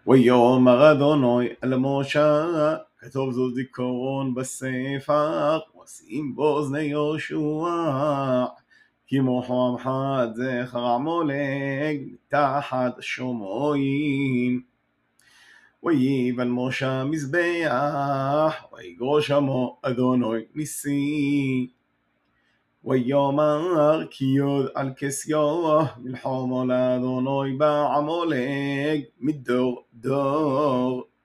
ויאמר אדוני אל משה, כתוב זאת זיכרון בספר, ושים באוזני יהושע, כי מוחו עמך עד זכר עמלק מתחת השומעים. ויבן משה מזבח, ויגרוש עמו אדוני ניסי. ויאמר כי יוד על כסיו מלחמה לאדוני בעמלק מדור דור.